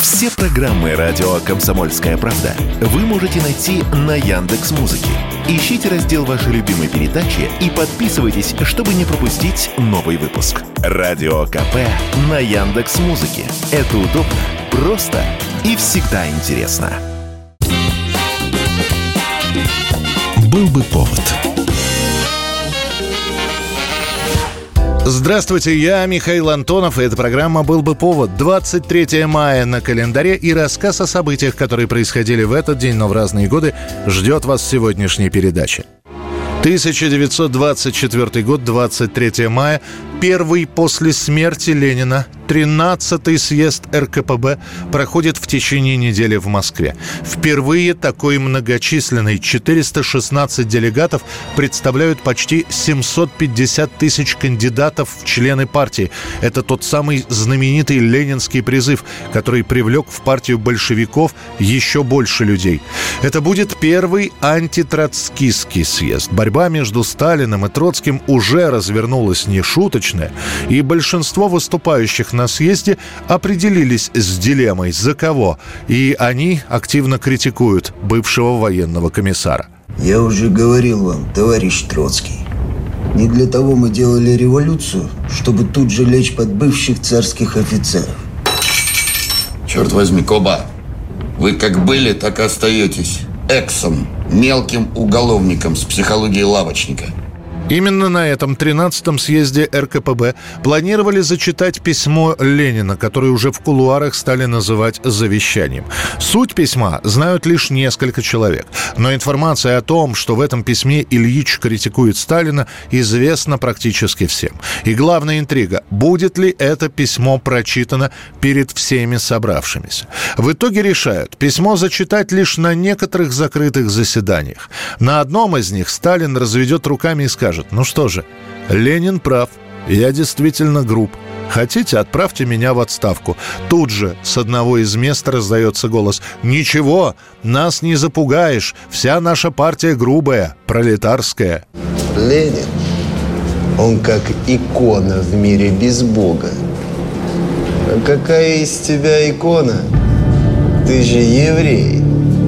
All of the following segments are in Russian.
Все программы радио «Комсомольская правда» вы можете найти на Яндекс.Музыке. Ищите раздел вашей любимой передачи и подписывайтесь, чтобы не пропустить новый выпуск. Радио КП на Яндекс.Музыке. Это удобно, просто и всегда интересно. Был бы повод. Здравствуйте, я Михаил Антонов, и эта программа «Был бы повод». 23 мая на календаре, и рассказ о событиях, которые происходили в этот день, но в разные годы, ждет вас в сегодняшней передаче. 1924 год, 23 мая, первый после смерти Ленина, 13-й съезд РКПБ проходит в течение недели в Москве. Впервые такой многочисленный 416 делегатов представляют почти 750 тысяч кандидатов в члены партии. Это тот самый знаменитый ленинский призыв, который привлек в партию большевиков еще больше людей. Это будет первый антитроцкистский съезд. Борьба между Сталиным и Троцким уже развернулась нешуточная, и большинство выступающих на съезде определились с дилеммой «за кого?», и они активно критикуют бывшего военного комиссара. Я уже говорил вам, товарищ Троцкий, не для того мы делали революцию, чтобы тут же лечь под бывших царских офицеров. Черт возьми, Коба, вы как были, так и остаетесь эксом, мелким уголовником с психологией лавочника. Именно на этом 13-м съезде РКПБ планировали зачитать письмо Ленина, которое уже в кулуарах стали называть завещанием. Суть письма знают лишь несколько человек. Но информация о том, что в этом письме Ильич критикует Сталина, известна практически всем. И главная интрига – будет ли это письмо прочитано перед всеми собравшимися. В итоге решают письмо зачитать лишь на некоторых закрытых заседаниях. На одном из них Сталин разведет руками и скажет: ну что же, Ленин прав, я действительно груб. Хотите, отправьте меня в отставку. Тут же с одного из мест раздается голос: ничего, нас не запугаешь, вся наша партия грубая, пролетарская. Ленин, он как икона в мире без Бога. А какая из тебя икона? Ты же еврей.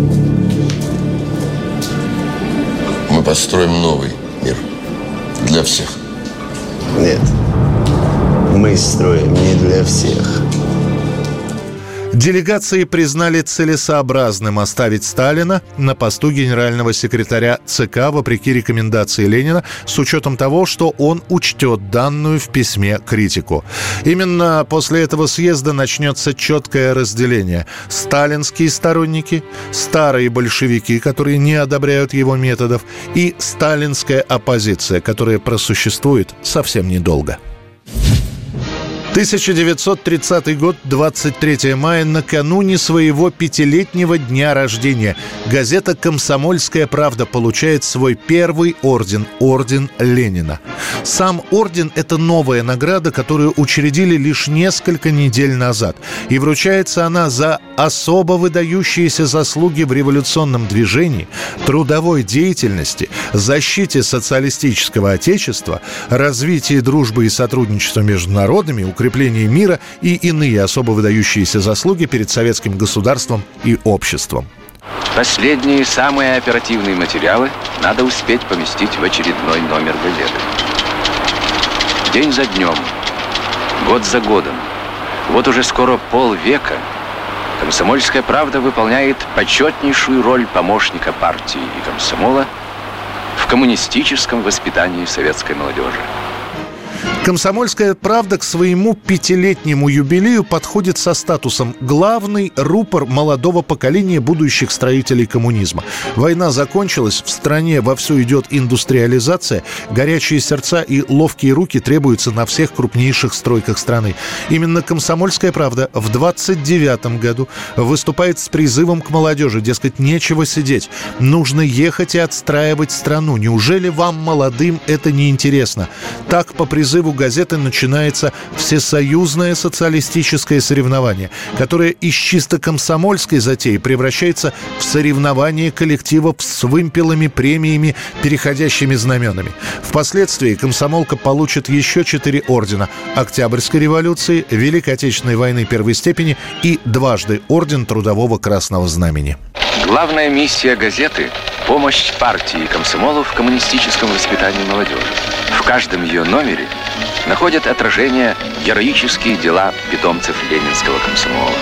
Мы построим новый мир. Для всех. Нет, мы строим не для всех. Делегации признали целесообразным оставить Сталина на посту генерального секретаря ЦК вопреки рекомендации Ленина, с учетом того, что он учтет данную в письме критику. Именно после этого съезда начнется четкое разделение. Сталинские сторонники, старые большевики, которые не одобряют его методов, и сталинская оппозиция, которая просуществует совсем недолго. 1930 год, 23 мая, накануне своего 5-летнего дня рождения, газета «Комсомольская правда» получает свой первый орден – орден Ленина. Сам орден – это новая награда, которую учредили лишь несколько недель назад. И вручается она за особо выдающиеся заслуги в революционном движении, трудовой деятельности, защите социалистического отечества, развитии дружбы и сотрудничества между народами, укреплении мира и иные особо выдающиеся заслуги перед советским государством и обществом. Последние, самые оперативные материалы надо успеть поместить в очередной номер газеты. День за днем, год за годом, вот уже скоро полвека «Комсомольская правда» выполняет почетнейшую роль помощника партии и комсомола в коммунистическом воспитании советской молодежи. «Комсомольская правда» к своему 5-летнему юбилею подходит со статусом «главный рупор молодого поколения будущих строителей коммунизма». Война закончилась, в стране вовсю идет индустриализация, горячие сердца и ловкие руки требуются на всех крупнейших стройках страны. Именно «Комсомольская правда» в 29-м году выступает с призывом к молодежи, дескать, нечего сидеть, нужно ехать и отстраивать страну. Неужели вам, молодым, это не интересно? Так, по призыву выпуску газеты начинается всесоюзное социалистическое соревнование, которое из чисто комсомольской затеи превращается в соревнование коллективов с вымпелами, премиями, переходящими знаменами. Впоследствии комсомолка получит еще 4 ордена – Октябрьской революции, Великой Отечественной войны первой степени и дважды орден Трудового Красного Знамени. Главная миссия газеты – помощь партии комсомолов в коммунистическом воспитании молодежи. В каждом ее номере находят отражение героические дела питомцев ленинского комсомола.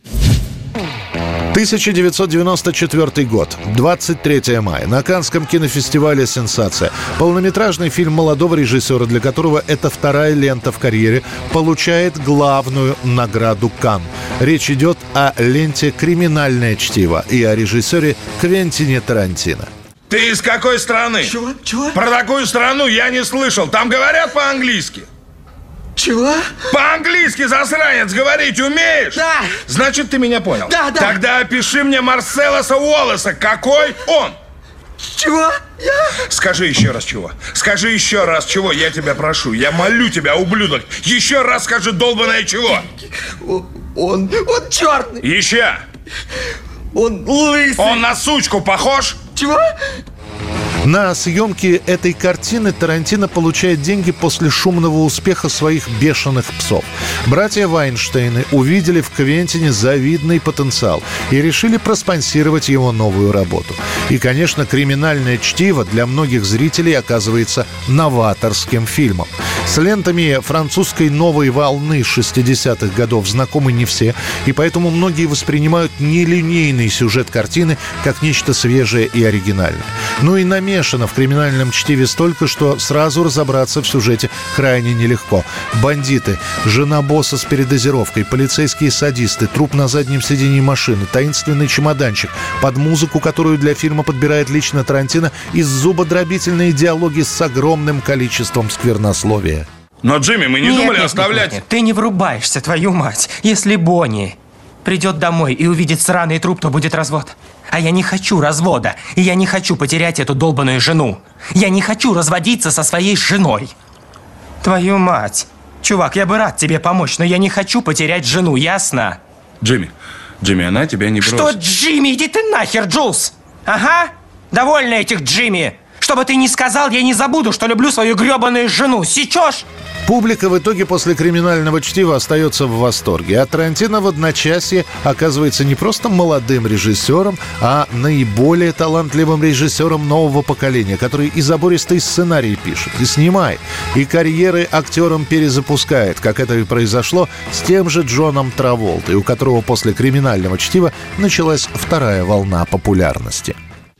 1994 год, 23 мая. На Каннском кинофестивале «Сенсация». Полнометражный фильм молодого режиссера, для которого это вторая лента в карьере, получает главную награду Канн. Речь идет о ленте «Криминальное чтиво» и о режиссере Квентине Тарантино. Ты из какой страны? Чего? Про такую страну я не слышал. Там говорят по-английски. Чего? По-английски, засранец, говорить умеешь? Да. Значит, ты меня понял. Да. Тогда опиши мне Марселоса Уоллеса. Какой он? Чего? Скажи еще раз чего. Скажи еще раз чего, я тебя прошу. Я молю тебя, ублюдок. Еще раз скажи долбаное чего. Он черный. Еще. Он лысый. Он на сучку похож? Чего? На съемки этой картины Тарантино получает деньги после шумного успеха своих «Бешеных псов». Братья Вайнштейны увидели в Квентине завидный потенциал и решили проспонсировать его новую работу. И, конечно, «Криминальное чтиво» для многих зрителей оказывается новаторским фильмом. С лентами французской новой волны 60-х годов знакомы не все, и поэтому многие воспринимают нелинейный сюжет картины как нечто свежее и оригинальное. Ну и намешано в «Криминальном чтиве» столько, что сразу разобраться в сюжете крайне нелегко. Бандиты, жена босса с передозировкой, полицейские садисты, труп на заднем сидении машины, таинственный чемоданчик, под музыку, которую для фильма подбирает лично Тарантино, и зубодробительные диалоги с огромным количеством сквернословия. Но, Джимми, мы не думали оставлять... Нет, ты не врубаешься, твою мать. Если Бонни придет домой и увидит сраный труп, то будет развод. А я не хочу развода, и я не хочу потерять эту долбаную жену. Я не хочу разводиться со своей женой. Твою мать. Чувак, я бы рад тебе помочь, но я не хочу потерять жену, ясно? Джимми, она тебя не бросит. Что, Джимми? Иди ты нахер, Джулс! Ага, довольна этих Джимми. Что бы ты ни сказал, я не забуду, что люблю свою гребаную жену. Сечешь? Публика в итоге после «Криминального чтива» остается в восторге. А Тарантино в одночасье оказывается не просто молодым режиссером, а наиболее талантливым режиссером нового поколения, который и забористый сценарий пишет, и снимает, и карьеры актерам перезапускает, как это и произошло с тем же Джоном Траволтой, у которого после «Криминального чтива» началась вторая волна популярности.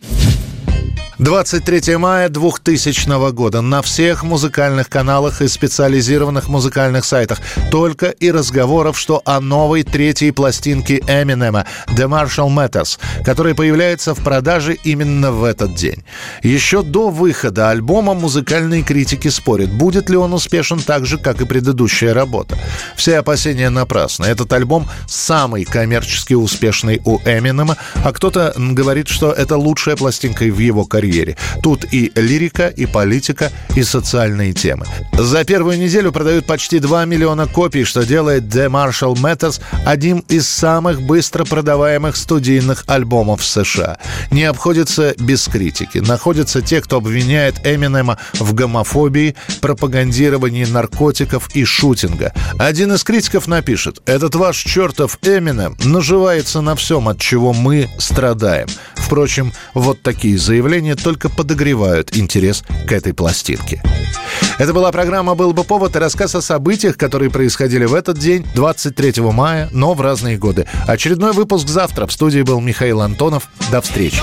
23 мая 2000 года. На всех музыкальных каналах и специализированных музыкальных сайтах только и разговоров, что о новой третьей пластинке Эминема «The Marshall Mathers», которая появляется в продаже именно в этот день. Еще до выхода альбома музыкальные критики спорят, будет ли он успешен так же, как и предыдущая работа. Все опасения напрасны. Этот альбом самый коммерчески успешный у Эминема, а кто-то говорит, что это лучшая пластинка в его карьере. Тут и лирика, и политика, и социальные темы. За первую неделю продают почти 2 миллиона копий, что делает The Marshall Mathers одним из самых быстро продаваемых студийных альбомов в США. Не обходится без критики. Находятся те, кто обвиняет Эминема в гомофобии, пропагандировании наркотиков и шутинга. Один из критиков напишет: «Этот ваш чертов Эминем наживается на всем, от чего мы страдаем». Впрочем, вот такие заявления только подогревают интерес к этой пластинке. Это была программа «Был бы повод» и рассказ о событиях, которые происходили в этот день, 23 мая, но в разные годы. Очередной выпуск завтра. В студии был Михаил Антонов. До встречи.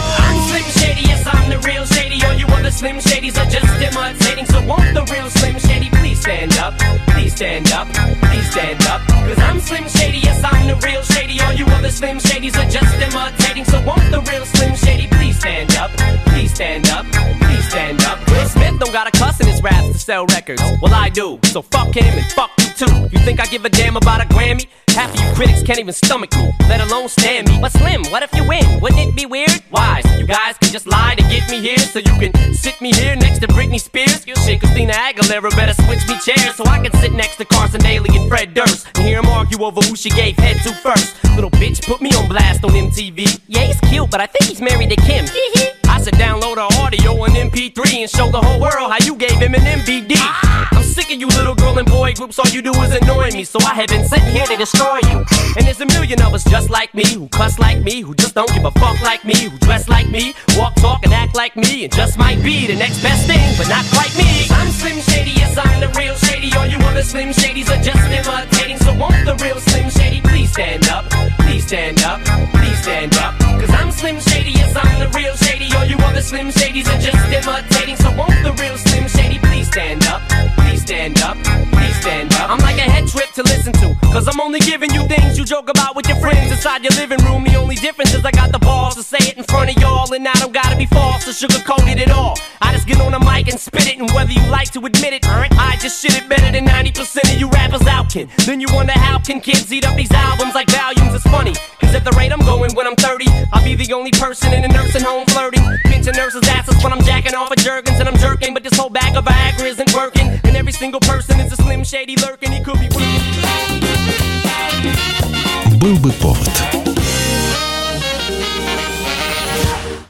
Don't got a cuss in his raps to sell records. Well, I do, so fuck him and fuck you too. You think I give a damn about a Grammy? Half of you critics can't even stomach me, let alone stand me. But Slim, what if you win? Wouldn't it be weird? Why? So you guys can just lie to get me here, so you can sit me here next to Britney Spears. Shit, Christina Aguilera better switch me chairs so I can sit next to Carson Daly and Fred Durst and hear them argue over who she gave head to first. Little bitch put me on blast on MTV. Yeah, he's cute, but I think he's married to Kim. I should download her audio on MP3 and show the whole world how you gave him an MVD. I'm sick of you little girl and boy groups, all you do is annoy me, so I have been sitting here to destroy you. And there's a million of us just like me, who cuss like me, who just don't give a fuck like me, who dress like me, walk, talk, and act like me, and just might be the next best thing, but not quite me. I'm Slim Shady, yes, I'm the real Shady. All you other Slim Shadys are just imitating, so won't the real Slim Shady please stand up, please stand up, please stand up. Cause I'm Slim Shady, yes, I'm the real Shady. All you other Slim Shadys are just imitating, so won't the real Slim Shady please stand up, please stand up, please stand up. I'm like a head trip to listen to, cause I'm only giving you things you joke about with your friends inside your living room. The only difference is I got the balls to say it in front of y'all, and I don't gotta be false or sugarcoat it at all. I just get on the mic and spit it, and whether you like to admit it, I just shit it better than 90% of you rappers out can. Then you wonder how can kids eat up these albums like volumes. It's funny, cause at the rate I'm going when I'm 30, I'll be the only person in a nursing home flirting, pinching nurses' asses when I'm jacking off at Jergens and I'm jerking. But this whole bag of Viagra isn't working, and every single person is a Slim Shady lurking. He could be. Был бы повод.